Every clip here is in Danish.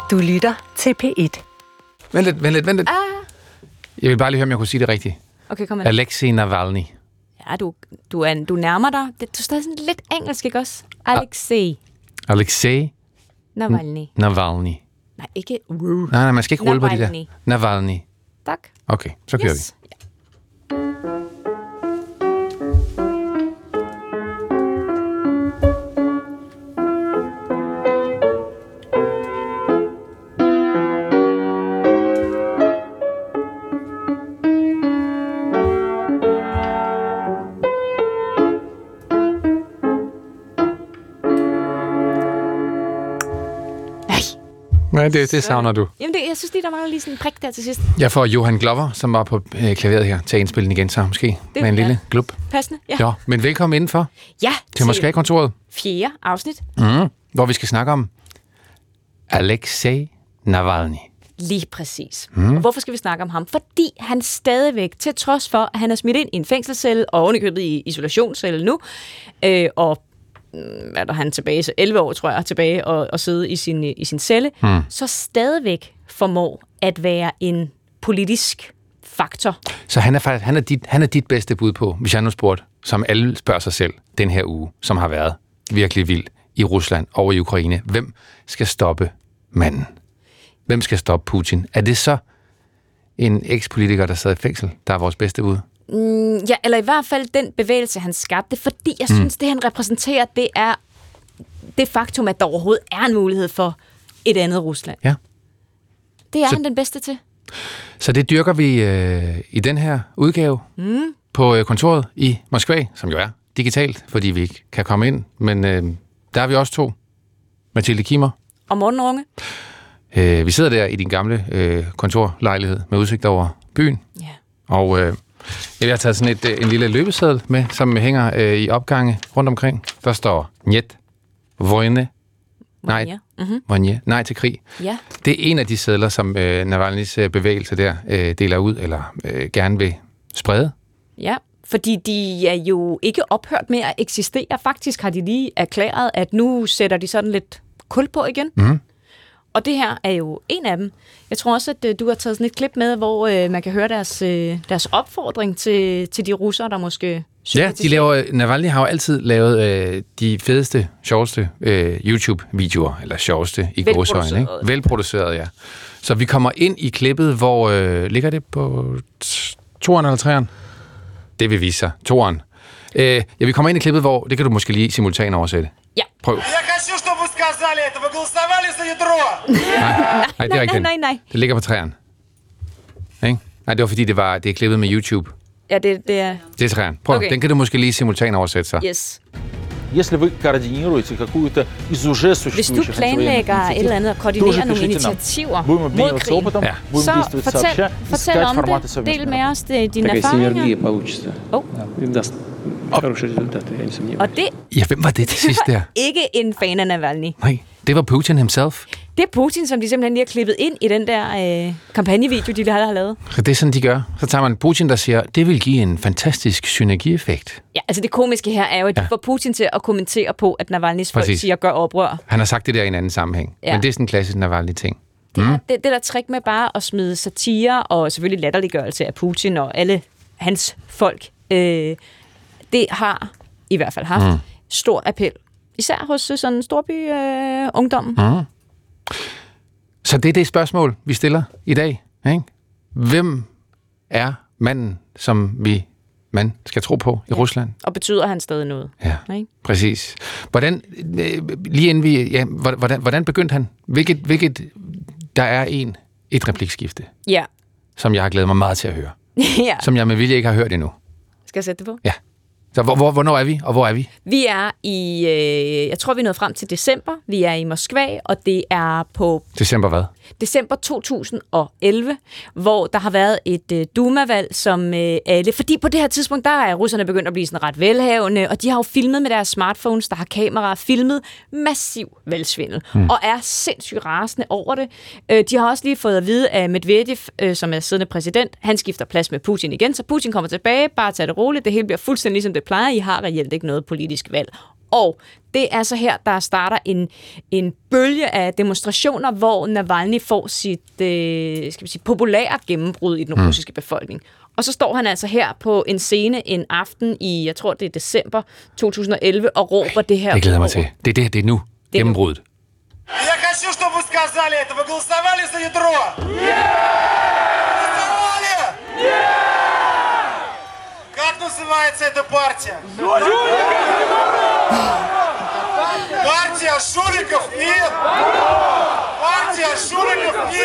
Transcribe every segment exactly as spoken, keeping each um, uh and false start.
Du lytter til P et. Vent lidt, vent lidt, vent lidt. Ah. Jeg vil bare lige høre, om jeg kunne sige det rigtigt. Okay, kom med. Alexei Navalny. Ja, du, du, er, du nærmer dig. Det, du står sådan lidt engelsk, ikke også? Alexei. Alexei Navalny. Navalny. Nej, ikke... Nej, nej, man skal ikke rulle på det der. Navalny. Tak. Okay, så kører Yes. vi. Nej, det, det savner du. Jamen, det, jeg synes lige, der mangler lige sådan en prik der til sidst. Jeg får Johan Glover, som var på øh, klaveret her, til at indspille den igen, så måske Det med en er lille glub. Passende, ja. Ja, men velkommen indenfor Ja, til Moskva-kontoret, fjerde afsnit. mm, hvor vi skal snakke om Alexei Navalny. Lige præcis. Mm. Og hvorfor skal vi snakke om ham? Fordi han stadigvæk, til trods for, at han er smidt ind i en fængselscelle, og ovenikøbet i isolationscelle nu, øh, og hvad der han tilbage, så elleve år, tror jeg, tilbage og, og sidde i sin, i sin celle, mm. så stadigvæk formår at være en politisk faktor. Så han er faktisk han er dit, han er dit bedste bud på, hvis jeg nu spurgte, som alle spørger sig selv den her uge, som har været virkelig vild i Rusland og i Ukraine. Hvem skal stoppe manden? Hvem skal stoppe Putin? Er det så en ekspolitiker, der sidder i fængsel, der er vores bedste bud? Mm, ja, eller i hvert fald den bevægelse, han skabte, fordi jeg mm. synes, det han repræsenterer, det er det faktum, at der overhovedet er en mulighed for et andet Rusland. Ja. Det er så, han den bedste til. Så det dyrker vi øh, i den her udgave mm. på øh, kontoret i Moskva, som jo er digitalt, fordi vi ikke kan komme ind. Men øh, der er vi også to. Mathilde Kimmer. Og Morten Runge. Øh, vi sidder der i din gamle øh, kontorlejlighed med udsigt over byen. Ja. Og øh, jeg har taget sådan et, en lille løbeseddel med, som hænger øh, i opgange rundt omkring. Der står Njet, Vojne, nej, mm-hmm. Vojne, nej til krig. Ja. Det er en af de sedler, som øh, Navalnys øh, bevægelse der øh, deler ud, eller øh, gerne vil sprede. Ja, fordi de er jo ikke ophørt med at eksistere. Faktisk har de lige erklæret, at nu sætter de sådan lidt kul på igen. Mm. Og det her er jo en af dem. Jeg tror også, at du har taget sådan et klip med, hvor øh, man kan høre deres, øh, deres opfordring til, til de russere, der måske... Ja, de laver, Navalny har jo altid lavet øh, de fedeste, sjoveste øh, YouTube-videoer, eller sjoveste i gåseøjne, ikke? Velproduceret, ja. Så vi kommer ind i klippet, hvor... Øh, ligger det på toeren eller treeren? Det vil vise sig. Toeren. Øh, ja, vi kommer ind i klippet, hvor... Det kan du måske lige simultan oversætte. Ja. Prøv. Nej, nej, det er ikke nej, nej, nej. Det ligger på træerne. Ikke? Nej, det var fordi, det var det er klippet med YouTube. Ja, det, det er... Det er træerne. Prøv, okay. Den kan du måske lige simultan oversætte så. Yes. Если вы координируете какую-то из уже существующих Hvis du planlægger et eller andet og koordinerer nogle initiativer mod krigen, ja. så fortæl, fortæl om det. Del med os dine erfaringer. Oh. Og det ja, hvem var det til sidst der? Ikke en fan af Navalny. Nej, det var Putin himself. Det er Putin, som de simpelthen lige har klippet ind i den der øh, kampagnevideo, de har lavet. Så det er sådan, de gør. Så tager man Putin, der siger, det vil give en fantastisk synergieffekt. Ja, altså det komiske her er jo, at de ja. får Putin til at kommentere på, at Navalnys folk siger, gør oprør. Han har sagt det der i en anden sammenhæng. Ja. Men det er sådan en klassisk Navalny-ting. Det, mm. er, det, det der trick med bare at smide satire og selvfølgelig latterliggørelse af Putin og alle hans folk, øh, det har i hvert fald haft mm. stor appel. Især hos sådan en storby øh, ungdom. Mm. Så det er det spørgsmål, vi stiller i dag. Ikke? Hvem er manden, som vi man skal tro på i ja. Rusland? Og betyder han stadig noget? Ja, ikke? Præcis. Hvordan, lige inden vi, ja, hvordan, hvordan begyndte han? Hvilket, hvilket, der er en, et replikskifte, ja. som jeg har glædet mig meget til at høre. ja. Som jeg med vilje ikke har hørt endnu. Skal jeg sætte det på? Ja. Så hvor, hvor, hvornår er vi, og hvor er vi? Vi er i, øh, jeg tror, vi er nået frem til december. Vi er i Moskva, og det er på... December hvad? December to tusind og elleve, hvor der har været et øh, Duma-valg, som øh, alle... Fordi på det her tidspunkt, der er russerne begyndt at blive sådan ret velhavende, og de har jo filmet med deres smartphones, der har kameraer, filmet massiv valgsvindel, hmm. og er sindssygt rasende over det. Øh, de har også lige fået at vide af Medvedev, øh, som er siddende præsident, han skifter plads med Putin igen, så Putin kommer tilbage, bare tag det roligt, det hele bliver fuldstændig ligesom det plejer, I har reelt ikke noget politisk valg. Og det er så her, der starter en, en bølge af demonstrationer, hvor Navalny får sit øh, skal vi sige, populære gennembrud i den mm. russiske befolkning. Og så står han altså her på en scene en aften i, jeg tror det er december to tusind og elleve, og råber det her. Det glæder mig til. Det er det, det er nu. Det er gennembruddet. Я хочу, чтобы вы сказали это. Вы голосовали за ядро? Голосовали? Как называется эта партия? Партия шуликов и... Партия шуликов и...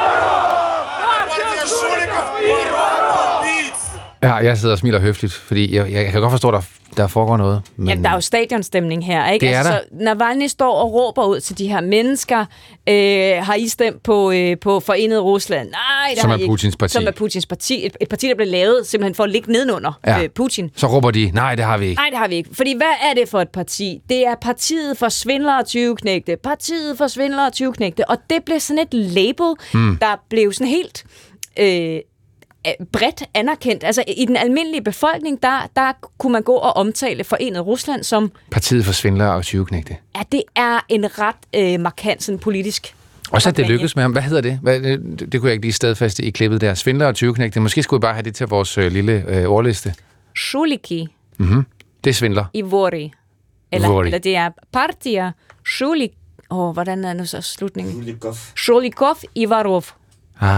Партия шуликов и убийц. Ja, jeg sidder og smiler høfligt, fordi jeg, jeg kan godt forstå, at der, der foregår noget. Men ja, der er jo stadionstemning her, ikke? Det er altså, der. Så Navalny står og råber ud til de her mennesker, øh, har I stemt på, øh, på Forenet Rusland? Nej, det som har er I Putins ikke. parti. Som er Putins parti. Et, et parti, der blev lavet simpelthen for at ligge nedenunder ja. øh, Putin. Så råber de, nej, det har vi ikke. Nej, det har vi ikke. Fordi hvad er det for et parti? Det er partiet for svindlere og tyveknægte. Partiet for svindlere og tyveknægte. Og det blev sådan et label, mm. der blev sådan helt... Øh, bredt anerkendt. Altså i den almindelige befolkning, der, der kunne man gå og omtale Forenet Rusland som... Partiet for svindlere og tyveknægte. Ja, det er en ret øh, markant sådan politisk... Og så det lykkes med ham. Hvad hedder det? Hvad, det? Det kunne jeg ikke lige stadfæste i klippet der. Svindlere og tyveknægte. Måske skulle vi bare have det til vores øh, lille øh, ordliste. Shuliki. Mhm. Det er svindler. I Vori. Eller, Vori. eller det er Partia Shulik... Åh, oh, hvordan er nu så slutningen? Шуликов. Shulikov i Varov. Ah.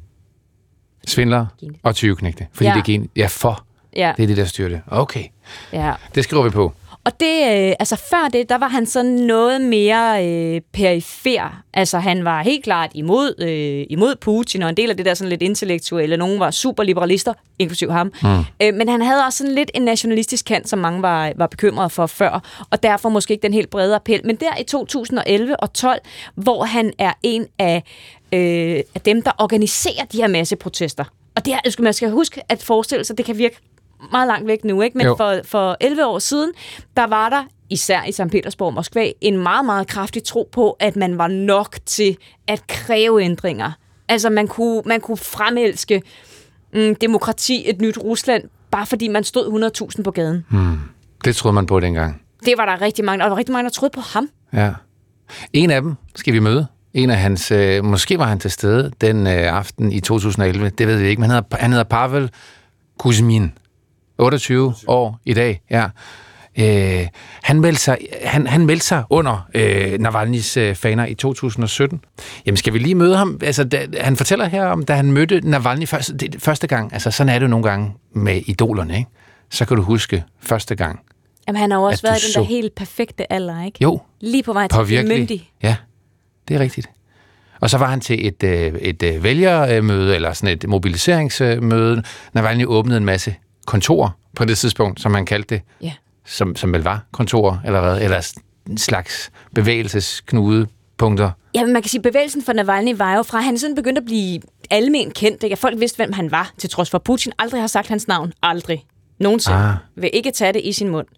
Svindler og tyveknægte. Fordi ja. det er gen... Ja, for. Ja. Det er det, der styrer det. Okay. Ja. Det skriver vi på. Og det, øh, altså før det, der var han sådan noget mere øh, perifer. Altså han var helt klart imod, øh, imod Putin, og en del af det der sådan lidt intellektuelle. Nogle var superliberalister, inklusiv ham. Mm. Øh, men han havde også sådan lidt en nationalistisk kant, som mange var, var bekymrede for før, og derfor måske ikke den helt brede appel. Men der i to tusind og elleve og tolv, hvor han er en af, øh, af dem, der organiserer de her masseprotester. Og det her, man skal huske at forestille sig, det kan virke meget langt væk nu, ikke? Men for, for elleve år siden, der var der, især i Sankt Petersborg og Moskva, en meget, meget kraftig tro på, at man var nok til at kræve ændringer. Altså, man kunne, man kunne fremelske mm, demokrati, et nyt Rusland, bare fordi man stod hundrede tusind på gaden. Hmm. Det troede man på dengang. Det var der rigtig mange, og der var rigtig mange, der troede på ham. Ja. En af dem skal vi møde. En af hans, øh, måske var han til stede den øh, aften i to tusind og elleve, det ved vi ikke, men han hedder, han hedder Pavel Kuzmin. otteogtyve år i dag, ja. Øh, han, meldte sig, han, han meldte sig under øh, Navalnys øh, faner i to tusind og sytten. Jamen, skal vi lige møde ham? Altså, da, han fortæller her om, da han mødte Navalny første, det, første gang. Altså, sådan er det jo nogle gange med idolerne, ikke? Så kan du huske første gang. Jamen, han har jo også været i den så... der helt perfekte alder, ikke? Jo. Lige på vej til at blive myndig. Ja, det er rigtigt. Og så var han til et, et, et vælgermøde, eller sådan et mobiliseringsmøde. Navalny åbnede en masse kontorer på det tidspunkt, som man kaldte det, ja. som, som vel var kontorer, eller hvad, eller en slags bevægelsesknudepunkter. Ja, men man kan sige, at bevægelsen for Navalny var jo fra, han sådan begyndte at blive almen kendt, ikke? Folk vidste, hvem han var, til trods for Putin aldrig har sagt hans navn. Aldrig. Nogensinde. Ah. Vil ikke tage det i sin mund.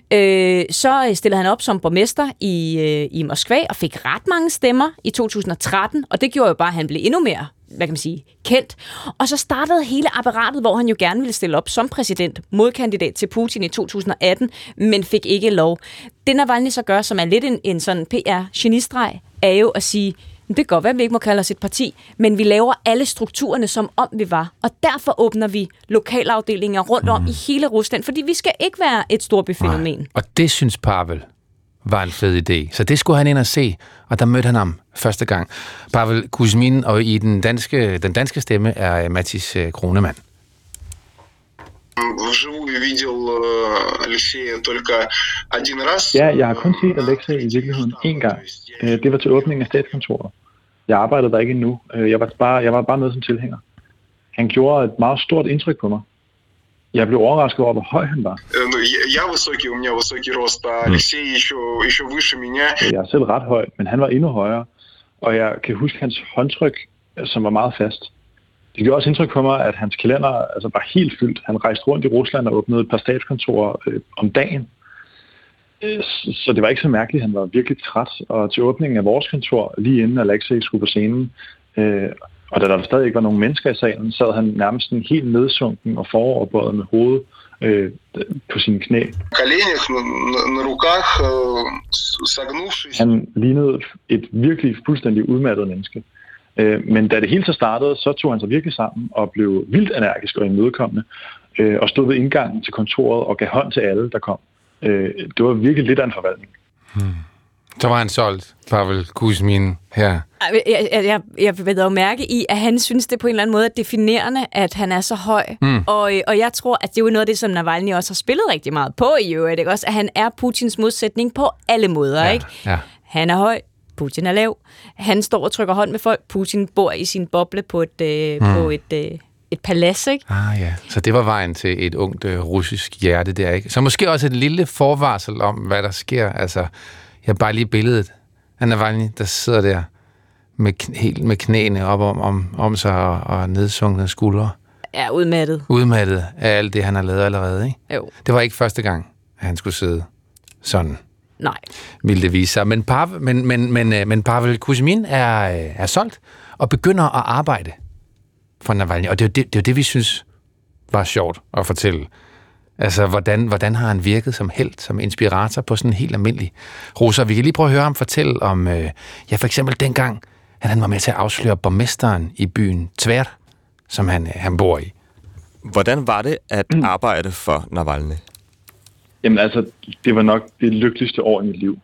Øh, så stillede han op som borgmester i, øh, i Moskva og fik ret mange stemmer i to tusind og tretten, og det gjorde jo bare, at han blev endnu mere, hvad kan man sige, kendt. Og så startede hele apparatet, hvor han jo gerne ville stille op som præsident, modkandidat til Putin i to tusind og atten, men fik ikke lov. Det Navalny så gør, som er lidt en, en sådan P R-genistreg, er jo at sige, det kan godt være, at vi ikke må kalde os et parti, men vi laver alle strukturerne, som om vi var. Og derfor åbner vi lokalafdelinger rundt mm. om i hele Rusland, fordi vi skal ikke være et storbyfænomen. Nej. Og det synes Pavel var en fed idé. Så det skulle han ind og se, og der mødte han ham første gang. Pavel Kuzmin, og i den danske, den danske stemme er Mattis Kronemann. Ja, jeg har kun set Alexei i virkeligheden én gang. Det var til åbningen af statskontoret. Jeg arbejdede der ikke endnu. Jeg var bare, jeg var bare med som tilhænger. Han gjorde et meget stort indtryk på mig. Jeg blev overrasket over, hvor høj han var. Jeg er selv ret høj, men han var endnu højere. Og jeg kan huske hans håndtryk, som var meget fast. Det gjorde også indtryk på mig, at hans kalender altså, var helt fyldt. Han rejste rundt i Rusland og åbnede et par statskontorer øh, om dagen. Så det var ikke så mærkeligt. Han var virkelig træt. Og til åbningen af vores kontor, lige inden Alexei skulle på scenen, øh, og da der stadig ikke var nogen mennesker i salen, sad han nærmest en helt nedsunken og foroverbøjet med hovedet øh, på sine knæ. Han lignede et virkelig fuldstændig udmattet menneske. Øh, men da det hele så startede, så tog han sig virkelig sammen og blev vildt energisk og imødekommende, øh, og stod ved indgangen til kontoret og gav hånd til alle, der kom. Øh, det var virkelig lidt af en forvaltning. Hmm. Så var han solgt, Pavel Kuzmin her. Jeg, jeg, jeg, jeg vil dog mærke i, at han synes, det på en eller anden måde er definerende, at han er så høj. Mm. Og, og jeg tror, at det er jo noget af det, som Navalny også har spillet rigtig meget på i øvrigt. Ikke? Også, at han er Putins modsætning på alle måder. Ja, ikke? Ja. Han er høj, Putin er lav. Han står og trykker hånd med folk. Putin bor i sin boble på et, øh, mm. på et, øh, et palads. Ikke? Ah ja, så det var vejen til et ungt øh, russisk hjerte der, ikke? Så måske også et lille forvarsel om, hvad der sker. Altså, jeg har bare lige billedet af Navalny, der sidder der med, helt med knæene op om, om, om sig og, og nedsunkne skuldre. Ja, udmattet. Udmattet af alt det, han har lavet allerede, ikke? Jo. Det var ikke første gang, at han skulle sidde sådan. Nej. Ville det vise sig. Men, Pavel, men, men, men, men Pavel Kuzmin er, er solgt og begynder at arbejde for Navalny. Og det er jo det, det, er jo det vi synes var sjovt at fortælle. Altså, hvordan, hvordan har han virket som helt, som inspirator på sådan en helt almindelig russer? Vi kan lige prøve at høre ham fortælle om, øh, ja, for eksempel dengang, at han var med til at afsløre borgmesteren i byen Tver, som han, han bor i. Hvordan var det at arbejde for Navalny? Jamen altså, det var nok det lykkeligste år i mit liv.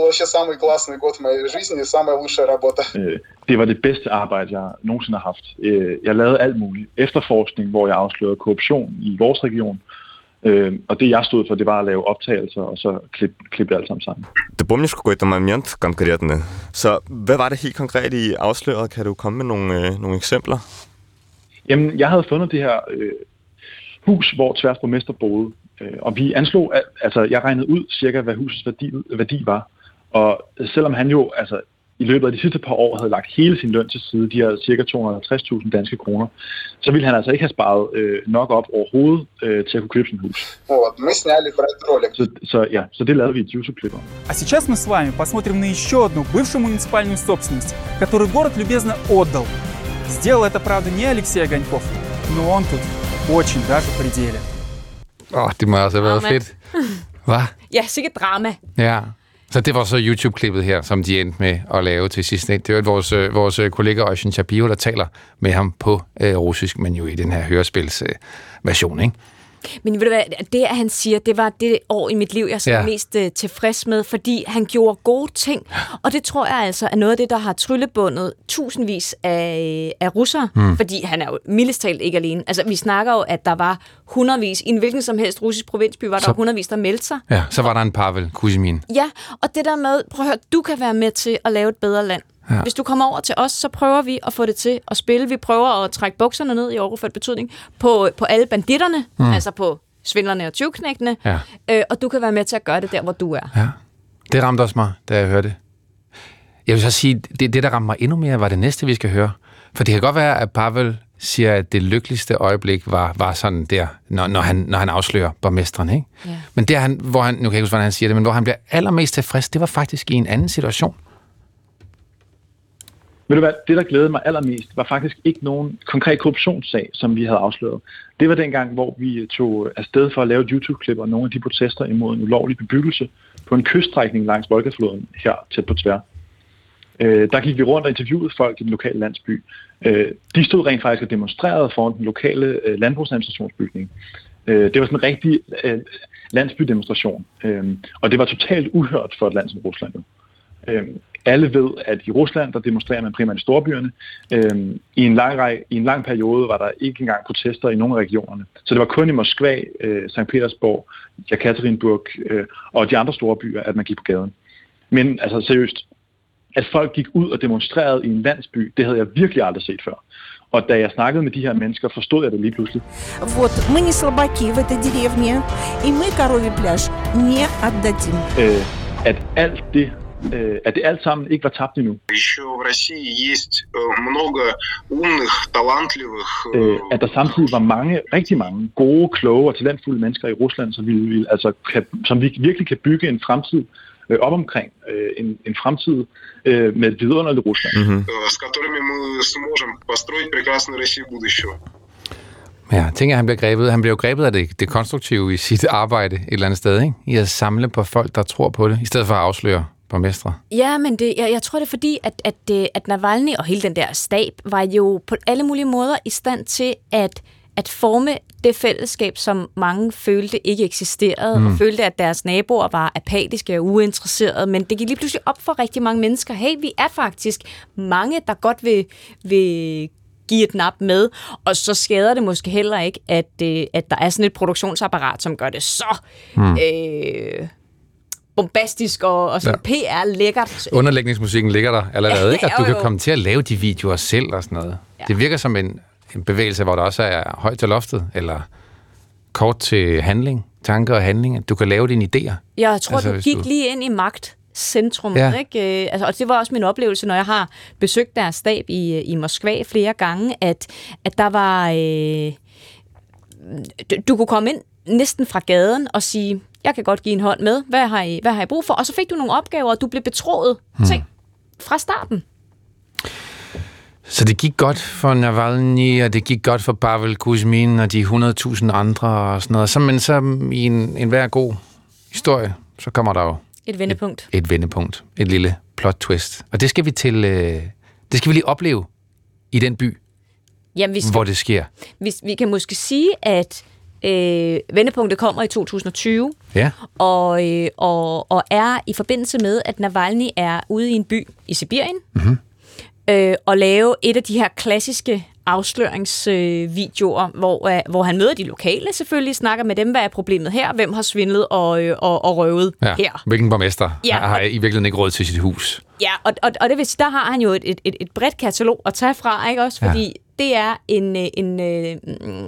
Det var det bedste arbejde, jeg nogensinde har haft. Jeg lavede alt muligt. Efterforskning, hvor jeg afslørede korruption i vores region. Og det, jeg stod for, det var at lave optagelser, og så klippe, klippe alt sammen sammen. Ты помнишь какой-то момент конкретный? Så hvad var det helt konkret, I afslørede? Kan du komme med nogle, øh, nogle eksempler? Jamen, jeg havde fundet det her øh, hus, hvor Tvers borgmester boede. Og vi anslog, at, altså jeg regnede ud cirka, hvad husets værdi, værdi var. Og selvom han jo altså, i løbet af de sidste par år havde lagt hele sin løn til side, de her cirka to hundrede og halvtreds tusind danske kroner, så ville han altså ikke have sparet øh, nok op overhovedet øh, til at kunne købe sin hus. Så, så, ja, så det lavede vi et YouTube-klip om. А сейчас мы с вами посмотрим на еще одну бывшую муниципальную собственность, которую город любезно отдал. Сделал это, правда, не Алексей Огоньков, но он тут очень даже в пределе. Åh, oh, det må også have været drama. fedt. Hvad? Ja, sikkert drama. Ja. Så det var så YouTube-klippet her, som de endte med at lave til sidst. Det er jo vores, vores kollega Oisin Shapiro, der taler med ham på øh, russisk, men jo i den her hørespilsversion, øh, ikke? Men ved du hvad, det, at han siger, det var det år i mit liv, jeg er ja. mest uh, tilfreds med, fordi han gjorde gode ting. Og det tror jeg altså er noget af det, der har tryllebundet tusindvis af, af russere, mm. fordi han er jo mildest talt ikke alene. Altså, vi snakker jo, at der var hundredvis, i en hvilken som helst russisk provinsby, var der så, hundredvis, der meldte sig. Ja, så var der en Pavel Kuzmin. Ja, og det der med, prøv at høre, du kan være med til at lave et bedre land. Ja. Hvis du kommer over til os, så prøver vi at få det til at spille. Vi prøver at trække bukserne ned i overført betydning på, på alle banditterne, mm. altså på svindlerne og tyveknægtene, ja. øh, og du kan være med til at gøre det der, hvor du er. Ja. Det ramte også mig, da jeg hørte det. Jeg vil så sige, det, det der ramte mig endnu mere, var det næste, vi skal høre. For det kan godt være, at Pavel siger, at det lykkeligste øjeblik var, var sådan der, når, når, han, når han afslører borgmesteren, ikke? Ja. Men der, han, hvor han, nu kan jeg ikke huske, hvordan han siger det, men hvor han bliver allermest tilfreds, det var faktisk i en anden situation. Ved du hvad, det der glædede mig allermest, var faktisk ikke nogen konkret korruptionssag, som vi havde afsløret. Det var dengang, hvor vi tog afsted for at lave et YouTube-klip og nogle af de protester imod en ulovlig bebyggelse på en kyststrækning langs Volgafloden her tæt på Tver. Øh, der gik vi rundt og interviewede folk i den lokale landsby. Øh, de stod rent faktisk og demonstrerede foran den lokale øh, landbrugsadministrationsbygning. Øh, det var sådan en rigtig øh, landsbydemonstration, øh, og det var totalt uhørt for et land som Rusland. Øh, Alle ved, at i Rusland, der demonstrerer man primært i storbyerne. Øhm, i, en lang række, I en lang periode var der ikke engang protester i nogle af regionerne. Så det var kun i Moskva, øh, Sankt Petersborg, Jekaterinburg øh, og de andre store byer, at man gik på gaden. Men altså seriøst, at folk gik ud og demonstrerede i en landsby, det havde jeg virkelig aldrig set før. Og da jeg snakkede med de her mennesker, forstod jeg det lige pludselig. Вот, мы не слабаки в этой деревне, и мы коровий пляж не отдадим. Øh, at alt det Øh, at det alt sammen ikke var tabt endnu. Øh, at der samtidig var mange, rigtig mange gode, kloge og talentfulde mennesker i Rusland, som, vi, vi, altså, kan, som vi virkelig kan bygge en fremtid øh, op omkring. Øh, en, en fremtid øh, med et vidunderligt Rusland. Mm-hmm. Ja, jeg tænker, at han bliver grebet. Han bliver jo grebet af det, det konstruktive i sit arbejde et eller andet sted, ikke? I at samle på folk, der tror på det, i stedet for at afsløre borgmestre. Ja, men det, jeg, jeg tror, det er fordi, at, at, at Navalny og hele den der stab var jo på alle mulige måder i stand til at, at forme det fællesskab, som mange følte ikke eksisterede, mm. og følte, at deres naboer var apatiske og uinteresserede. Men det gik lige pludselig op for rigtig mange mennesker. Hey, vi er faktisk mange, der godt vil, vil give et nap med, og så skader det måske heller ikke, at, øh, at der er sådan et produktionsapparat, som gør det så mm. øh, bombastisk og, og sådan ja. P R-lækkert. Underlægningsmusikken ligger der allerede, ikke? At du kan komme til at lave de videoer selv og sådan noget. Ja. Det virker som en, en bevægelse, hvor der også er højt til loftet, eller kort til handling, tanker og handling, at du kan lave dine idéer. Jeg tror, altså, du gik du... lige ind i magt. Centrum, ja. Ikke? Altså, og det var også min oplevelse, når jeg har besøgt deres stab i, i Moskva flere gange, at, at der var... Øh, du, du kunne komme ind næsten fra gaden og sige, jeg kan godt give en hånd med, hvad har I, hvad har I brug for? Og så fik du nogle opgaver, og du blev betroet hmm. ting fra starten. Så det gik godt for Navalny, og det gik godt for Pavel Kuzmin og de hundrede tusind andre og sådan noget. Så, men så i en, en hver god historie, så kommer der jo Et vendepunkt. Et, et vendepunkt. Et lille plot twist. Og det skal vi til, øh, det skal vi lige opleve i den by, Jamen, vi skal, hvor det sker. Vi, vi kan måske sige, at øh, vendepunktet kommer i to tusind og tyve, ja. og, øh, og, og er i forbindelse med, at Navalny er ude i en by i Sibirien, mm-hmm. øh, og lave et af de her klassiske afsløringsvideoer, øh, hvor, øh, hvor han møder de lokale selvfølgelig, snakker med dem, hvad er problemet her, hvem har svindlet og, øh, og, og røvet ja, her. Hvilken borgmester ja, har i virkeligheden ikke råd til sit hus. Ja, og, og, og det vil sige, der har han jo et, et, et bredt katalog at tage fra, ikke også? Fordi ja. det er en, en, en,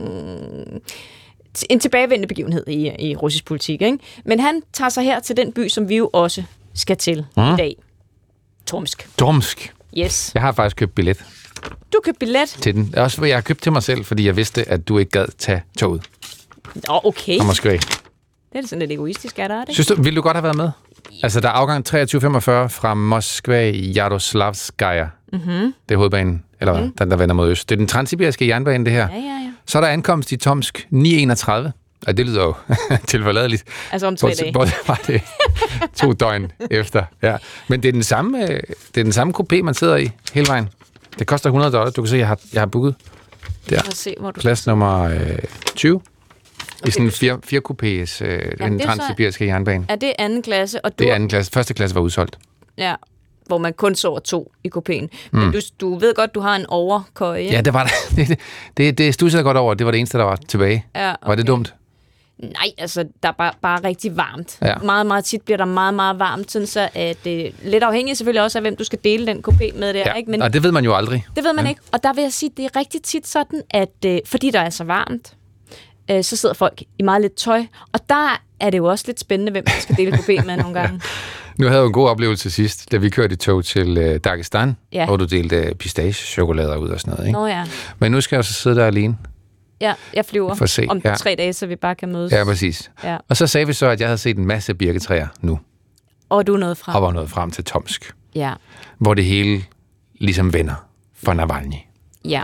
en tilbagevendende begivenhed i, i russisk politik, ikke? Men han tager sig her til den by, som vi jo også skal til mm. i dag. Tomsk. Tomsk. Yes. Jeg har faktisk købt billet. Du købte billet? Til den. Også jeg har købt til mig selv, fordi jeg vidste, at du ikke gad tage toget. Nå, okay. Fra Moskva. Det er sådan lidt egoistisk, er der det? Synes du, ville du godt have været med? Altså, der er afgang treogtyve femogfyrre fra Moskva i Jaroslavskaya. Mm-hmm. Det er hovedbanen, eller hvad? Mm. Den, der vender mod øst. Det er den transsibiriske jernbane, det her. Ja, ja, ja. Så er der ankomst i Tomsk ni enogtredive. Og det lyder jo tilforladeligt. Altså om tre dage. Både var det to døgn efter. Ja. Men det er den samme, det er den samme coupé, man sidder i hele vejen. Det koster hundrede dollar. Du kan se, jeg har, jeg har booket der. Se, hvor du... Plads nummer øh, tyve. Okay. I sådan en fire, fire coupés, øh, ja, den transsibiriske jernbane. Er det anden klasse? Og du... Det er anden klasse. Første klasse var udsolgt. Ja, hvor man kun sover to i coupéen. Men mm. du, du ved godt, du har en overkøje. Ja, det var det. Det, det, det stussede godt over. Det var det eneste, der var tilbage. Ja, okay. Var det dumt? Nej, altså, der er bare, bare rigtig varmt. Ja. Meget, meget tit bliver der meget, meget varmt, sådan så at det er lidt afhængigt selvfølgelig også af, hvem du skal dele den coupé med der. Ja. Ikke? Men og det ved man jo aldrig. Det ved man ja. ikke. Og der vil jeg sige, det er rigtig tit sådan, at øh, fordi der er så varmt, øh, så sidder folk i meget lidt tøj. Og der er det jo også lidt spændende, hvem man skal dele coupé med nogle gange. Nu havde jeg en god oplevelse sidst, da vi kørte i tog til øh, Dagestan, ja. hvor du delte pistache-chokolader ud og sådan noget. Ikke? Nå ja. Men nu skal jeg så sidde der alene. Ja, jeg flyver se, om ja. tre dage, så vi bare kan mødes. Ja, præcis. Ja. Og så sagde vi så, at jeg havde set en masse birketræer nu. Og du er nået frem. Og var nået frem til Tomsk. Ja. Hvor det hele ligesom vender for Navalny. Ja.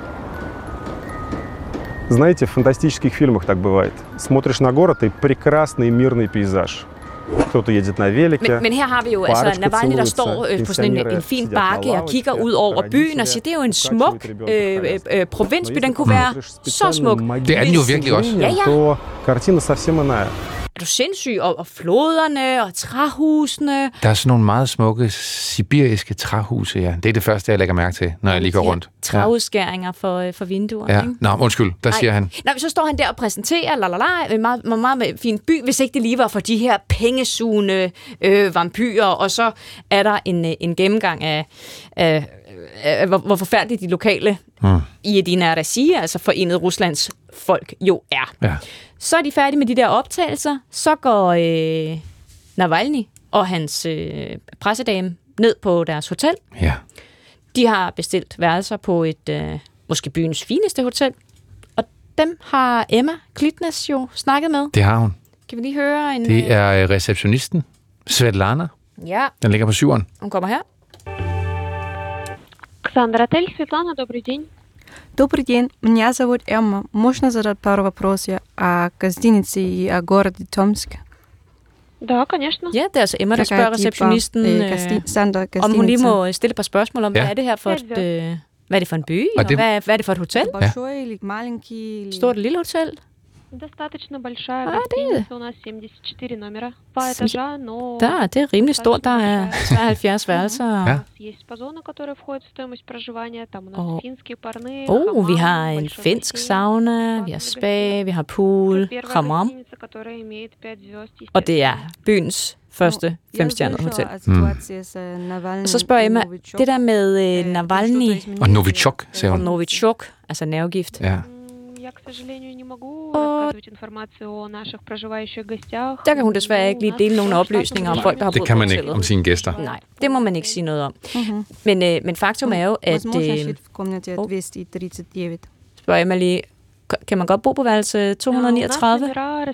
Знаете, в фантастических фильмах так бывает. Смотришь на город и прекрасный мирный пейзаж. Кто-то едет на велике. Men, men her har vi jo altså Navalny, der står øh, på sådan en, en fin bakke og kigger ud over byen og siger, det er jo en smuk øh, øh, provinsby, den kunne være så smuk. Det er den jo virkelig også. Ja, ja. Картина совсем иная. Er du sindssyg? Og, og floderne og træhusene. Der er sådan nogle meget smukke sibiriske træhuse, ja. Det er det første, jeg lægger mærke til, når jeg lige går rundt. Træudskæringer for, for vinduer. Ja. Ikke? Nå, undskyld, der Nej. siger han. Nej, så står han der og præsenterer, lalala, en meget, meget, meget fin by, hvis ikke det lige var for de her pengesugende øh, vampyrer, og så er der en, en gennemgang af, af, af hvor, hvor forfærdeligt de lokale hmm. i Jedina Россия, altså Forenet Ruslands folk, jo er. Ja. Så er de færdige med de der optagelser, så går øh, Navalny og hans øh, pressedame ned på deres hotel. Ja. De har bestilt værelser på et, øh, måske byens fineste hotel, og dem har Emma Klitnes jo snakket med. Det har hun. Kan vi lige høre en... Det er receptionisten, Svetlana. Ja. Den ligger på syveren. Hun kommer her. Александр, отель Светлана, добрый день. Добрый день, меня зовут Эмма. Можно задать пару вопросов о гостинице и о городе Томске? Да, конечно. Ja, det er altså Emma, der spørger receptionisten, øh, om hun lige må stille et par spørgsmål om, hvad er det her for et, øh, hvad er det for en by, og, og det, hvad, hvad er det for et hotel? Ja. Stort lille hotel? Достаточно большая гостиница, у нас семьдесят четыре номера, два этажа, но... Да, det er rimelig stort, der er treoghalvfjerds værelser. У нас есть спа-зона, которая входит в стоимость проживания, там у нас финские парные, oh, vi har en finsk sauna, vi har spa, vi har pool, hammam, og det er byens første femstjernede hotel. Mm. Og så spørger Emma, det der med uh, Navalny... Og Novichok, siger hun. Og Novichok, altså nervgift. Ja. Я, к сожалению, не могу рассказывать информацию о наших проживающих гостях. Der kan hun desværre ikke lige dele nogle oplysninger om folk, der har boet på hotellet. Det kan man ikke om sine gæster. Nej, det må man ikke sige noget om. Mm-hmm. Men, øh, men faktum er jo, at... Øh, oh, spørger Emma lige, kan man godt bo på værelse to hundrede niogtredive?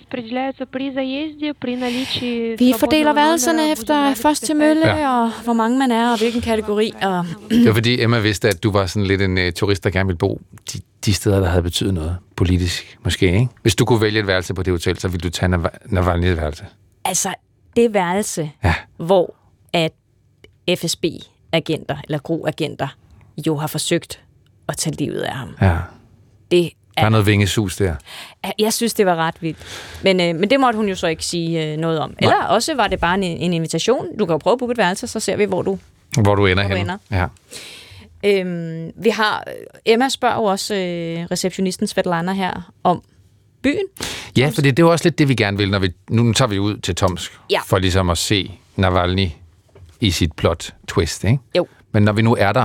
Vi fordeler værelserne efter først til mølle, ja. Og hvor mange man er, og hvilken kategori. Og det var fordi Emma vidste, at du var sådan lidt en uh, turist, der gerne ville bo de, de steder, der havde betydet noget politisk, måske, ikke? Hvis du kunne vælge et værelse på det hotel, så ville du tage Nav- Navalny's værelse. Altså, det værelse, ja. Hvor at F S B-agenter, eller G R U-agenter, jo har forsøgt at tage livet af ham. Ja. Det Der er noget vingesus der. Jeg synes, det var ret vildt. Men, øh, men det måtte hun jo så ikke sige øh, noget om. Eller Nej. Også var det bare en, en invitation. Du kan jo prøve at booke et værelse, så ser vi, hvor du, hvor du ender hvor hen. Ja. Øhm, vi har, Emma spørger jo også øh, receptionisten Svetlana her om byen. Ja, for det er jo også lidt det, vi gerne vil, når vi... Nu tager vi ud til Tomsk, ja. For ligesom at se Navalny i sit plot twist, ikke? Jo. Men når vi nu er der,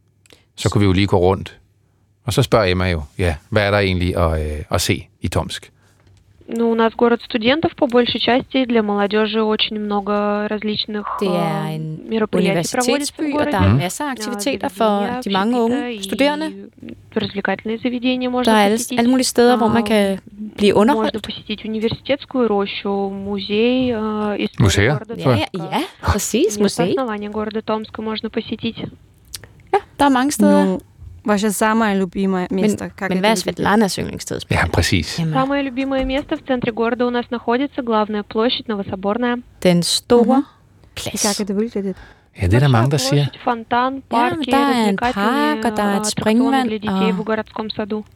så kunne vi jo lige gå rundt. Og så spørger Emma jo, ja, hvad er der egentlig at, øh, at se i Tomsk? Ну, у нас город студентов, по большей части, для молодежи очень много различных мероприятий проводится в городе. Der er masser af aktiviteter for de mange unge studerende. Развлекательные заведения можно der er alle, посетить. alle mulige steder, hvor man kan blive underholdt. Можно посетить университетскую рощу, музей истории Museer? города Ja, ja, ja, præcis, museet. Основание города Томска можно посетить. Ja, der er mange steder. Ну, ваше самое любимое место. Men, men hvad er Svetlanas yndlingssted? Ja, præcis. Самое любимое место в центре города у нас находится главная площадь Новособорная. Den store mm-hmm. plads. Как это выглядит? Ja, det er der mange, der siger. Фонтан, парки, ja, der er en park, og der er et springvand. для детей в городском саду.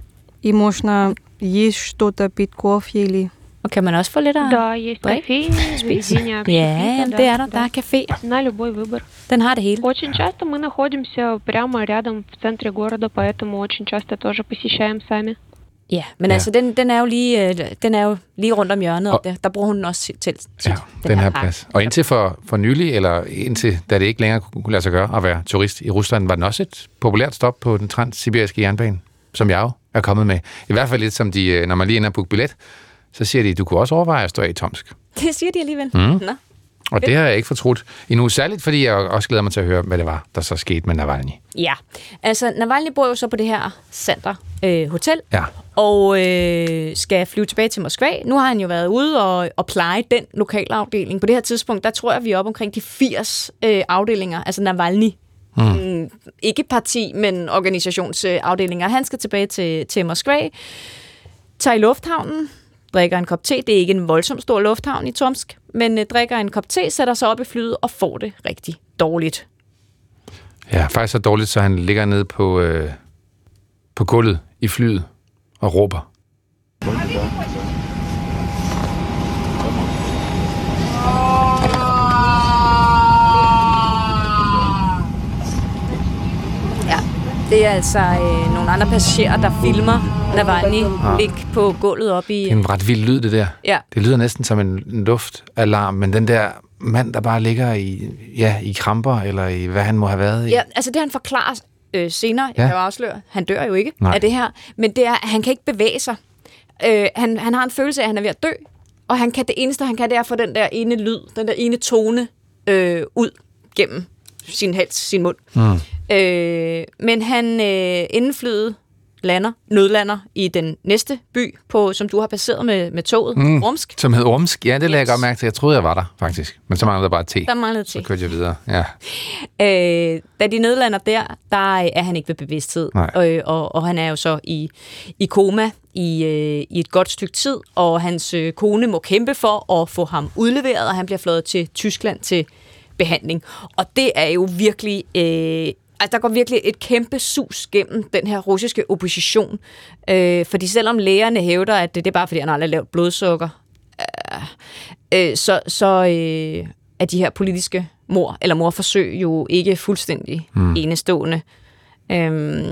И можно есть что-то, пить кофе или... Og kan man også få lidt af Да, есть кофе, заведения Ja, det er der. Der er café. На любой выбор. Den har det hele. Очень часто мы находимся прямо рядом в центре города, поэтому очень часто тоже посещаем сами. Ja, men ja. altså, den, den, er jo lige, den er jo lige rundt om hjørnet, og, og der, der bruger hun den også til tit, ja, den, den her plads. Og indtil for, for nylig, eller indtil da det ikke længere kunne lade sig gøre at være turist i Rusland, var den også et populært stop på den transsibiriske jernbane, som jeg jo er kommet med. I hvert fald lidt som de, når man lige ender på billet, så siger de, du kunne også overveje at stå af i Tomsk. Det siger de alligevel. Mm. Nå. Og det har jeg ikke fortrudt endnu, særligt fordi jeg også glæder mig til at høre, hvad det var, der så skete med Navalny. Ja, altså Navalny bor jo så på det her Sander øh, Hotel, ja. og øh, skal flyve tilbage til Moskva. Nu har han jo været ude og, og pleje den lokalafdeling. På det her tidspunkt, der tror jeg, vi er oppe omkring de firs øh, afdelinger, altså Navalny. Mm. Mm, ikke parti, men organisationsafdelinger. Han skal tilbage til, til Moskva, tager i lufthavnen, drikker en kop te. Det er ikke en voldsomt stor lufthavn i Tomsk, men øh, drikker en kop te, sætter sig op i flyet og får det rigtig dårligt. Ja, faktisk så dårligt, så han ligger nede på, øh, på gulvet i flyet og råber. Ja, det er altså øh, nogle andre passagerer, der filmer Navalny ja. ligge på gulvet op i... Det er en ret vild lyd, det der. Ja. Det lyder næsten som en luftalarm, men den der mand, der bare ligger i, ja, i kramper, eller i hvad han må have været i. Ja, altså det han forklarer øh, senere, ja. jeg kan jo afsløre, han dør jo ikke Nej. af det her, men det er, at han kan ikke bevæge sig. Øh, han, han har en følelse af, at han er ved at dø, og han kan, det eneste, han kan, det er at få den der ene lyd, den der ene tone øh, ud gennem sin hals, sin mund. Mm. Øh, men han, øh, inden flyet lander, nødlander i den næste by, på, som du har passeret med, med toget, mm, Ormsk. Som hed Ormsk, ja, det lagde jeg godt mærke til. Jeg troede, jeg var der, faktisk. Men så manglede der bare te. Der manglede te. Så kørte jeg videre, ja. Øh, da de nødlander der, der er han ikke ved bevidsthed. Og, og, og han er jo så i, i koma i, øh, i et godt stykke tid, og hans øh, kone må kæmpe for at få ham udleveret, og han bliver fløjet til Tyskland til behandling. Og det er jo virkelig... Øh, altså, der går virkelig et kæmpe sus gennem den her russiske opposition. Øh, fordi selvom lægerne hævder, at det, det er bare fordi, han aldrig har lavt blodsukker, øh, øh, så, så øh, er de her politiske mord eller mordforsøg jo ikke fuldstændig mm. enestående. Øh,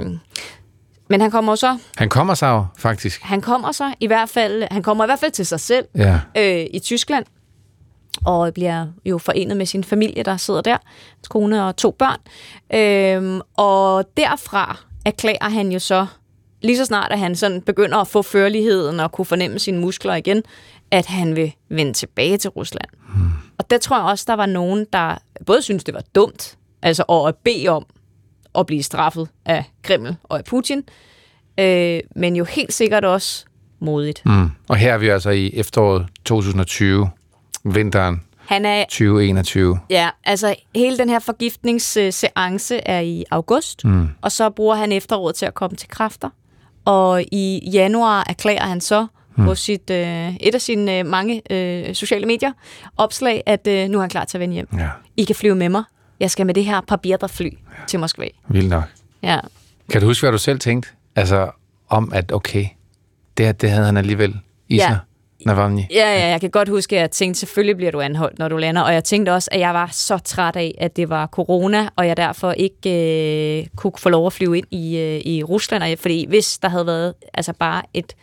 men han kommer så... Han kommer så jo, faktisk. Han kommer så i hvert fald... Han kommer i hvert fald til sig selv ja. øh, i Tyskland, og bliver jo forenet med sin familie, der sidder der, hans kone og to børn. Øhm, og derfra erklærer han jo så, lige så snart at han sådan begynder at få førligheden og kunne fornemme sine muskler igen, at han vil vende tilbage til Rusland. Hmm. Og der tror jeg også, der var nogen, der både synes det var dumt, altså at bede om at blive straffet af Kreml og af Putin, øh, men jo helt sikkert også modigt. Hmm. Og her er vi altså i efteråret to tusind og tyve, vinteren han er, tyve enogtyve. Ja, altså hele den her forgiftningsseance er i august, mm. og så bruger han efteråret til at komme til kræfter. Og i januar erklærer han så mm. på sit, øh, et af sine øh, mange øh, sociale medier opslag, at øh, nu er han klar til at vende hjem. Ja. I kan flyve med mig. Jeg skal med det her papirderfly ja. til Moskva. Vildt nok. Ja. Kan du huske, hvad du selv tænkte? Altså om, at okay, det, det havde han alligevel i ja. sig. Navalny. Ja, ja, jeg kan godt huske, at jeg tænkte, selvfølgelig bliver du anholdt, når du lander. Og jeg tænkte også, at jeg var så træt af, at det var corona, og jeg derfor ikke øh, kunne få lov at flyve ind i, øh, i Rusland. Fordi hvis der havde været altså bare et,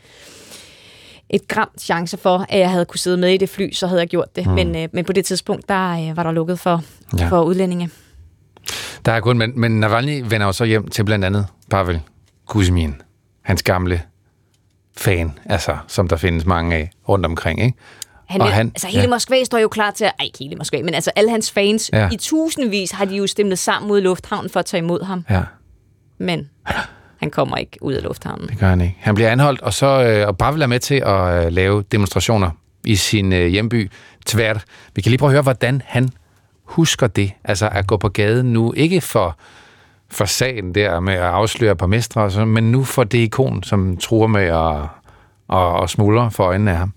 et gram chance for, at jeg havde kunne sidde med i det fly, så havde jeg gjort det. Mm. Men, øh, men på det tidspunkt, der øh, var der lukket for, ja. for udlændinge. Der er kun, men, men Navalny vender jo så hjem til blandt andet Pavel Kuzmin, hans gamle fan, altså, som der findes mange af rundt omkring, ikke? Han, vil, han, altså hele ja. Moskva står jo klar til at... Ej, ikke hele Moskva, men altså alle hans fans, ja. i tusindvis har de jo stemlet sammen mod lufthavnen for at tage imod ham. Ja. Men han kommer ikke ud af lufthavnen. Det gør han ikke. Han bliver anholdt, og så øh, og Pavel er med til at øh, lave demonstrationer i sin øh, hjemby, Tver. Vi kan lige prøve at høre, hvordan han husker det, altså at gå på gaden nu, ikke for... for sagen der med at afsløre på mestre, men nu for det ikon, som truer med at, at, at smuldre for øjnene af ham.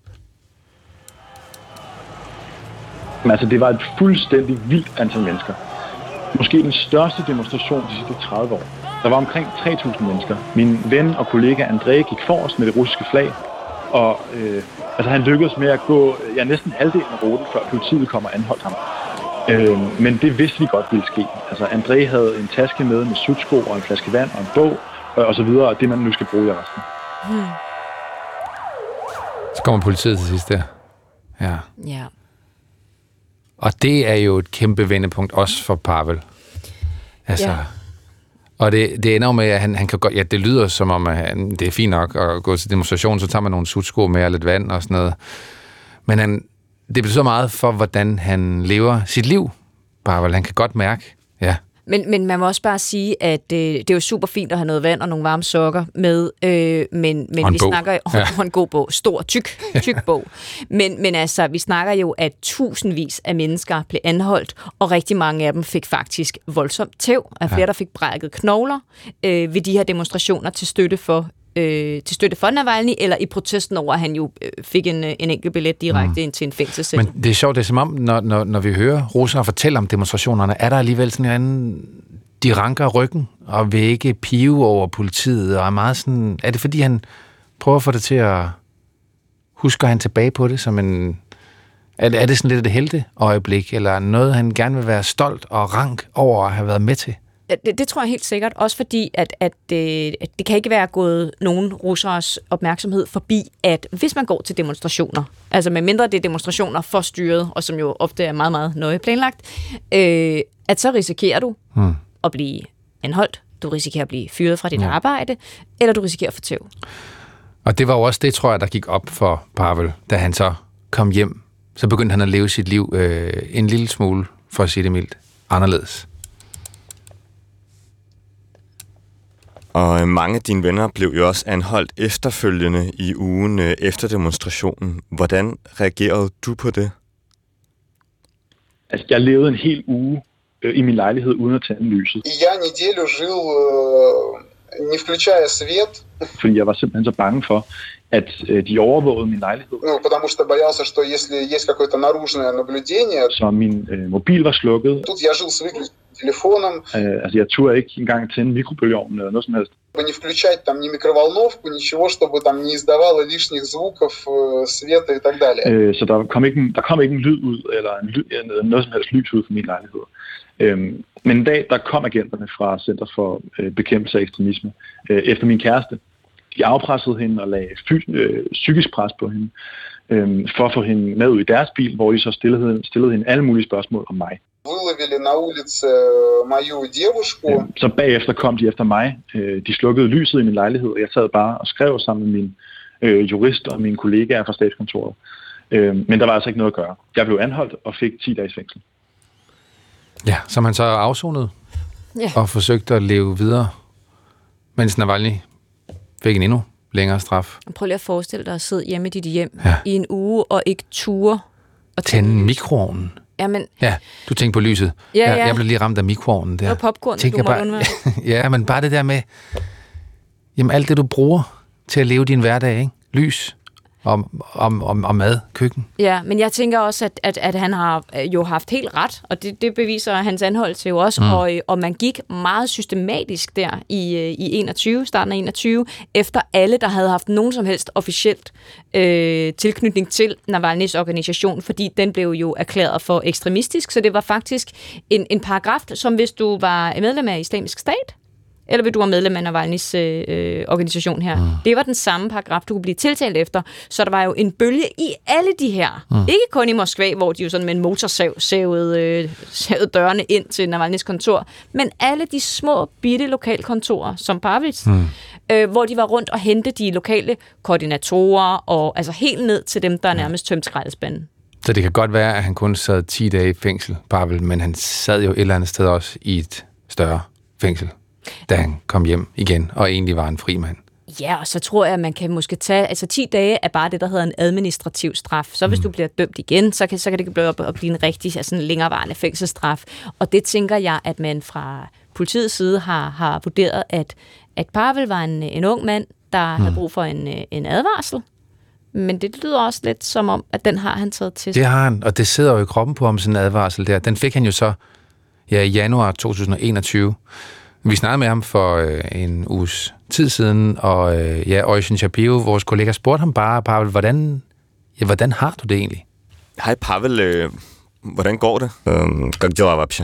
Men altså, det var et fuldstændig vildt antal mennesker. Måske den største demonstration de sidste tredive år. Der var omkring tre tusind mennesker. Min ven og kollega André gik forrest med det russiske flag, og øh, altså, han lykkedes med at gå ja, næsten halvdelen af ruten, før politiet kom og anholdt ham. Øh, men det vidste vi godt ville ske. Altså, André havde en taske med med sutsko og en flaske vand og en bog, og, og så videre, og det man nu skal bruge i resten. Hmm. Så kommer politiet til sidst der. Ja. Ja. Og det er jo et kæmpe vendepunkt også for Pavel. Altså, ja. Og det, det ender jo med, at han, han kan godt... Ja, det lyder som om, at han, det er fint nok at gå til demonstration, så tager man nogle sutsko med og lidt vand og sådan noget. Men han, det betyder meget for, hvordan han lever sit liv, Pavel. Han kan godt mærke, ja. Men, men man må også bare sige, at øh, det er jo super fint at have noget vand og nogle varme sokker med, øh, men, men vi bog. snakker jo ja. om en god bog, stor, tyk, tyk bog. Men, men altså, vi snakker jo, at tusindvis af mennesker blev anholdt, og rigtig mange af dem fik faktisk voldsomt tæv, af flere, ja. der fik brækket knogler øh, ved de her demonstrationer til støtte for Øh, til støtte for Navalny, eller i protesten over, at han jo øh, fik en, en enkelt billet direkte mm. ind til en fængselscelle. Men det er sjovt, det er som om, når, når, når vi hører russere fortælle om demonstrationerne, er der alligevel sådan en anden, de ranker ryggen, og vil ikke pive over politiet, og er meget sådan, er det fordi, han prøver at få det til at, husker han tilbage på det, som en, er det, er det sådan lidt et helteøjeblik, eller noget, han gerne vil være stolt og rank over at have været med til? Det, det tror jeg helt sikkert, også fordi, at, at, det, at det kan ikke være gået nogen russeres opmærksomhed forbi, at hvis man går til demonstrationer, altså med mindre det er demonstrationer for styret, og som jo ofte er meget, meget nøje planlagt, øh, at så risikerer du hmm. at blive anholdt, du risikerer at blive fyret fra dit ja. arbejde, eller du risikerer at få tæv. Og det var jo også det, tror jeg, der gik op for Pavel, da han så kom hjem. Så begyndte han at leve sit liv øh, en lille smule, for at sige det mildt, anderledes. Og mange af dine venner blev jo også anholdt efterfølgende i ugen efter demonstrationen. Hvordan reagerede du på det? Altså, jeg levede en hel uge øh, i min lejlighed uden at tænde lyset. Jeg неделю жил, не включая свет. Fordi jeg var simpelthen så bange for, at øh, de overvågede min lejlighed. Ну, потому что боялся, что если есть какое-то наружное наблюдение. Så min øh, mobil var slukket. Тут я жил с выключенным телефоном. Øh, altså, jeg turde ikke engang tænde mikrobølgeovnen eller noget som helst. Не включать там ни микроволновку, ничего, чтобы там не издавало лишних звуков, света и так далее. Øh, så der kom ikke en, der kom ikke en lyd ud eller en lyd, noget som helst lys ud fra min lejlighed. Øhm, men en dag der kom agenterne fra Center for øh, Bekæmpelse af Ekstremisme øh, efter min kæreste. De afpressede hende og lagde fy- øh, psykisk pres på hende øh, for at få hende med ud i deres bil, hvor de så stillede, stillede hende alle mulige spørgsmål om mig. Выловили на улице мою девушку. Så bagefter kom de efter mig. De slukkede lyset i min lejlighed, og jeg sad bare og skrev sammen med min øh, jurist og mine kollegaer fra statskontoret. Øh, men der var altså ikke noget at gøre. Jeg blev anholdt og fik ti dages fængsel. Ja, som han så afsonede ja. og forsøgte at leve videre, mens Navalny fik en endnu længere straf. Prøv lige at forestille dig at sidde hjemme i dit hjem ja. i en uge og ikke ture og tænde mikroovnen. Jamen, ja, du tænker på lyset. Ja, ja. Jeg, jeg blev lige ramt af mikroovnen der. Det var popcorn, du må bare, undvære. Ja, men bare det der med, jamen alt det, du bruger til at leve din hverdag, ikke? Lys om, om, om, om mad, køkken. Ja, men jeg tænker også, at, at, at han har jo haft helt ret, og det, det beviser hans anholdelse jo også, mm. og, og man gik meget systematisk der i, i enogtyve, starten af enogtyve, efter alle, der havde haft nogen som helst officielt øh, tilknytning til Navalnys organisation, fordi den blev jo erklæret for ekstremistisk, så det var faktisk en, en paragraf, som hvis du var medlem af Islamisk Stat, eller vil du være medlem af Navalnys øh, organisation her. Mm. Det var den samme paragraf, du kunne blive tiltalt efter. Så der var jo en bølge i alle de her. Mm. Ikke kun i Moskva, hvor de jo sådan med en motorsav sævede, øh, sævede dørene ind til Navalnys kontor, men alle de små, bitte lokalkontorer, som Pavels, mm. øh, hvor de var rundt og hente de lokale koordinatorer, og altså helt ned til dem, der nærmest tømte skraldespanden. Så det kan godt være, at han kun sad ti dage i fængsel, Pavel, men han sad jo et eller andet sted også i et større fængsel, da han kom hjem igen, og egentlig var en fri mand. Ja, og så tror jeg, at man kan måske tage... Altså ti dage er bare det, der hedder en administrativ straf. Så hvis mm. du bliver dømt igen, så kan, så kan det blive op at blive en rigtig altså en længerevarende fængselsstraf. Og det tænker jeg, at man fra politiets side har, har vurderet, at, at Pavel var en, en ung mand, der mm. havde brug for en, en advarsel. Men det lyder også lidt som om, at den har han taget til sig. Det har han, og det sidder jo i kroppen på ham, sådan en advarsel der. Den fik han jo så ja, i januar to tusind og enogtyve. Vi snakkede med ham for øh, en uges tid siden, og øh, ja, Oisin Shapiro, vores kollega, spurgte ham bare, Pavel, hvordan, ja, hvordan har du det egentlig? Hej Pavel, øh, hvordan går det? Øhm, как дела вообще?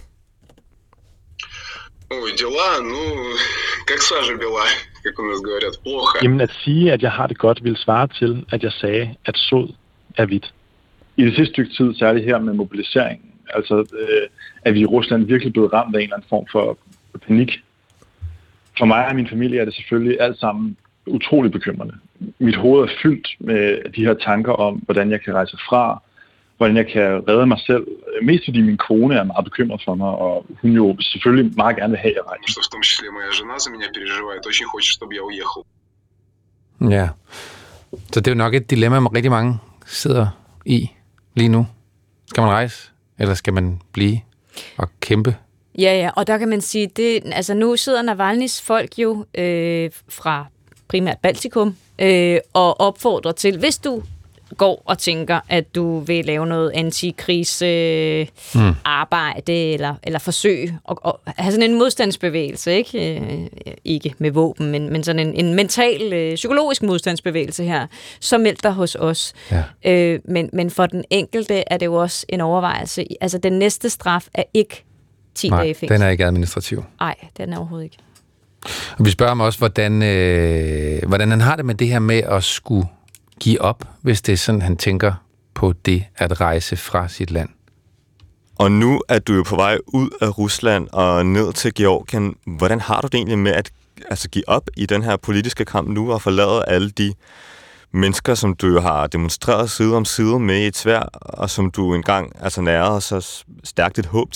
Ой, дела, ну, как сажа бела, как у нас говорят, плохо. Jamen at sige, at jeg har det godt, vil svare til, at jeg sagde, at sod er hvidt. I det sidste stykke tid, særligt her med mobiliseringen, altså øh, er vi i Rusland virkelig blevet ramt af en eller anden form for panik. For mig og min familie er det selvfølgelig alt sammen utroligt bekymrende. Mit hoved er fyldt med de her tanker om, hvordan jeg kan rejse fra, hvordan jeg kan redde mig selv. Mest fordi min kone er meget bekymret for mig, og hun jo selvfølgelig meget gerne vil have, at jeg rejser. Что в том числе моя жена за меня переживает, очень хочет, чтобы я уехал. Ja, så det er jo nok et dilemma, man rigtig mange sidder i lige nu. Skal man rejse, eller skal man blive og kæmpe? Ja, ja, og der kan man sige, det, altså nu sidder Navalnys folk jo øh, fra primært Baltikum øh, og opfordrer til, hvis du går og tænker, at du vil lave noget antikrigs øh, mm. arbejde eller, eller forsøg og, og have sådan en modstandsbevægelse, ikke, øh, ikke med våben, men, men sådan en, en mental, øh, psykologisk modstandsbevægelse her, så meld dig hos os. Ja. Øh, men, men for den enkelte er det jo også en overvejelse. Altså den næste straf er ikke ti Nej, dage fængsel. Den er ikke administrativ. Nej, den er overhovedet ikke. Og vi spørger ham også, hvordan, øh, hvordan han har det med det her med at skulle give op, hvis det er sådan, han tænker på det at rejse fra sit land. Og nu er du jo på vej ud af Rusland og ned til Georgien. Hvordan har du det egentlig med at altså, give op i den her politiske kamp nu og forlade alle de mennesker, som du har demonstreret side om side med i et sværd, og som du engang altså nærede så stærkt et håb til?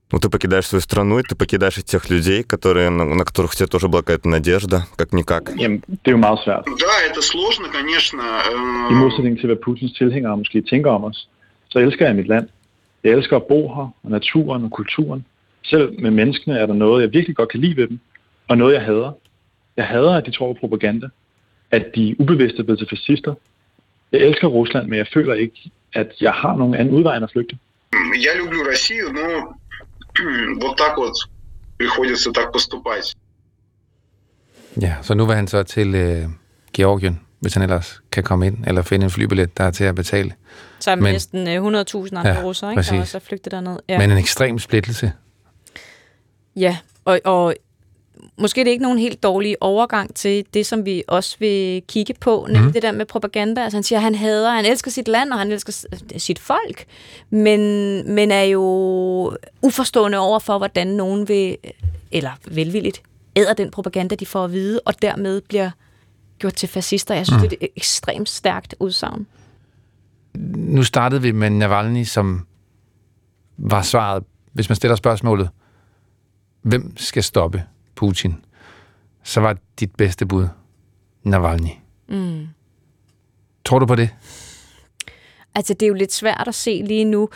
Ну, ты покидаешь свою страну, и ты покидаешь и тех людей, которые, на, на которых у тебя тоже была какая-то надежда, как-никак. Jamen, det er jo meget svært. Да, это сложно, конечно. I modsætning til, hvad Putins tilhængere måske tænker om os, så elsker jeg mit land. Jeg elsker at bo her, og naturen og kulturen. Selv med menneskene er der noget, jeg virkelig godt kan lide ved dem, og noget, jeg hader. Jeg hader, at de tror på propaganda, at de ubevidst er blevet til fascister. Jeg elsker Rusland, men jeg føler ikke, at jeg har nogen anden udvej end at flygte. Я люблю Россию, но вот так вот приходится так поступать. Ja, så nu vil han så til øh, Georgien, hvis han ellers kan komme ind, eller finde en flybillet, der er til at betale. Sammen med næsten hundrede tusind andre ja, russere, ikke? Der også er flygtet derned. Ja. Men en ekstrem splittelse. Ja, og, og måske er det ikke nogen helt dårlig overgang til det, som vi også vil kigge på, nemlig mm. det der med propaganda. Altså han siger, at han hader, han elsker sit land, og han elsker sit folk, men, men er jo uforstående over for, hvordan nogen vil, eller velvilligt, æder den propaganda, de får at vide, og dermed bliver gjort til fascister. Jeg synes, mm. det er et ekstremt stærkt udsagn. Nu startede vi med Navalny, som var svaret, hvis man stiller spørgsmålet, hvem skal stoppe Putin? Så var dit bedste bud Navalny. Mm. Tror du på det? Altså, det er jo lidt svært at se lige nu,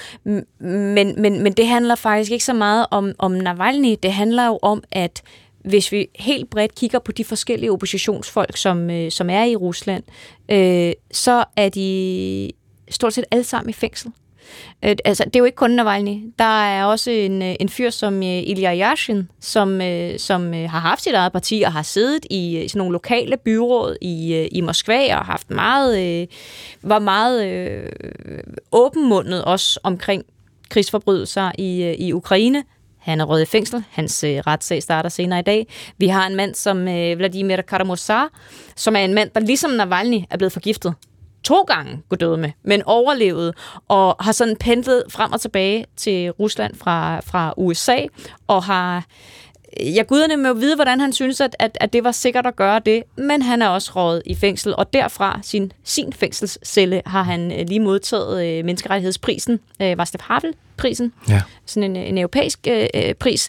men, men, men det handler faktisk ikke så meget om, om Navalny. Det handler jo om, at hvis vi helt bredt kigger på de forskellige oppositionsfolk, som, øh, som er i Rusland, øh, så er de stort set alle sammen i fængsel. Øh, altså, det er jo ikke kun Navalny. Der er også en, en fyr som øh, Ilya Yashin, som, øh, som øh, har haft sit eget parti og har siddet i sådan nogle lokale byråd i, øh, i Moskva og haft meget, øh, var meget øh, åbenmundet også omkring krigsforbrydelser i, øh, i Ukraine. Han er røget i fængsel. Hans øh, retssag starter senere i dag. Vi har en mand som øh, Vladimir Karamazov, som er en mand, der ligesom Navalny er blevet forgiftet to gange, går døde med, men overlevede og har sådan pendlet frem og tilbage til Rusland fra, fra U S A, og har jeg guderne med at vide, hvordan han synes, at, at, at det var sikkert at gøre det, men han er også røget i fængsel, og derfra sin, sin fængselscelle har han lige modtaget øh, menneskerettighedsprisen, øh, Václav Havel-prisen, ja. Sådan en, en europæisk øh, pris.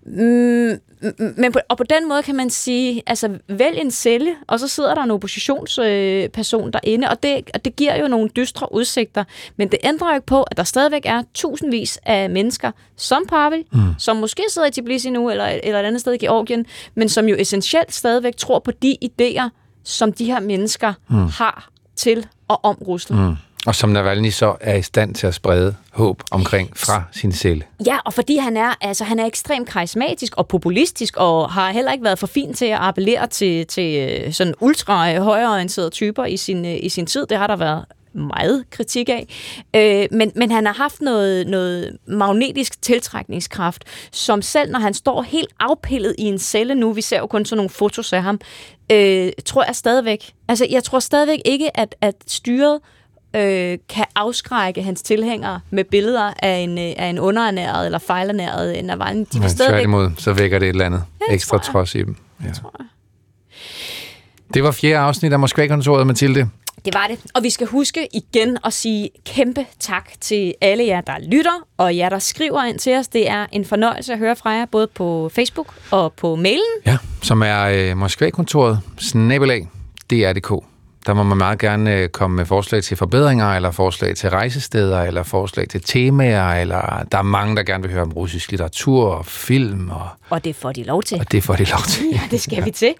Mm, men på, og på den måde kan man sige, altså vælg en celle, og så sidder der en oppositionsperson øh, derinde, og det, og det giver jo nogle dystre udsigter, men det ændrer jo ikke på, at der stadigvæk er tusindvis af mennesker, som Pavel, mm. som måske sidder i Tbilisi nu, eller, eller et andet sted i Georgien, men som jo essentielt stadigvæk tror på de idéer, som de her mennesker mm. har til og om Rusland. Mm. Og som Navalny så er i stand til at sprede håb omkring fra sin celle. Ja, og fordi han er, altså, han er ekstremt karismatisk og populistisk, og har heller ikke været for fin til at appellere til, til sådan ultra højreorienterede typer i sin, i sin tid. Det har der været meget kritik af. Øh, men, men han har haft noget, noget magnetisk tiltrækningskraft, som selv når han står helt afpillet i en celle nu, vi ser jo kun sådan nogle fotos af ham, øh, tror jeg stadigvæk, altså jeg tror stadigvæk ikke, at, at styret Øh, kan afskrække hans tilhængere med billeder af en, af en underernæret eller fejlernæret Navalny. De ja, tværtimod, så vækker det et eller andet ja, ekstra trods i dem. Ja. Det, tror jeg. Det var fjerde afsnit af Moskva-kontoret, Mathilde. Det var det. Og vi skal huske igen at sige kæmpe tak til alle jer, der lytter, og jer, der skriver ind til os. Det er en fornøjelse at høre fra jer, både på Facebook og på mailen. Ja, som er øh, Moskva-kontoret, snabelag, D R punktum D K. Der må man meget gerne komme med forslag til forbedringer, eller forslag til rejsesteder, eller forslag til temaer, eller der er mange, der gerne vil høre om russisk litteratur og film. Og, og det får de lov til. Og det får de lov til. Ja, det skal vi til.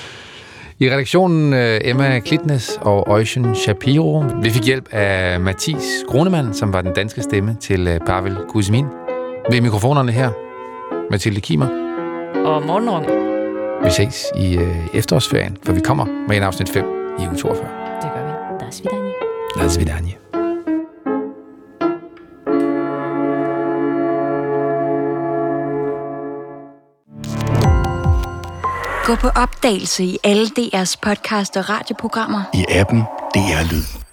I redaktionen Emma Klitnes og Ocean Shapiro. Vi fik hjælp af Mathis Grunemann, som var den danske stemme til Pavel Kuzmin. Ved mikrofonerne her, Mathilde Kimer. Og Morten Runge. Vi ses i efterårsferien, for vi kommer med en afsnit fem. I uge toogfyrre. Det gør vi. До свидания. До свидания. Gå på opdagelse i alle D R's podcast og radioprogrammer. I appen D R Lyd.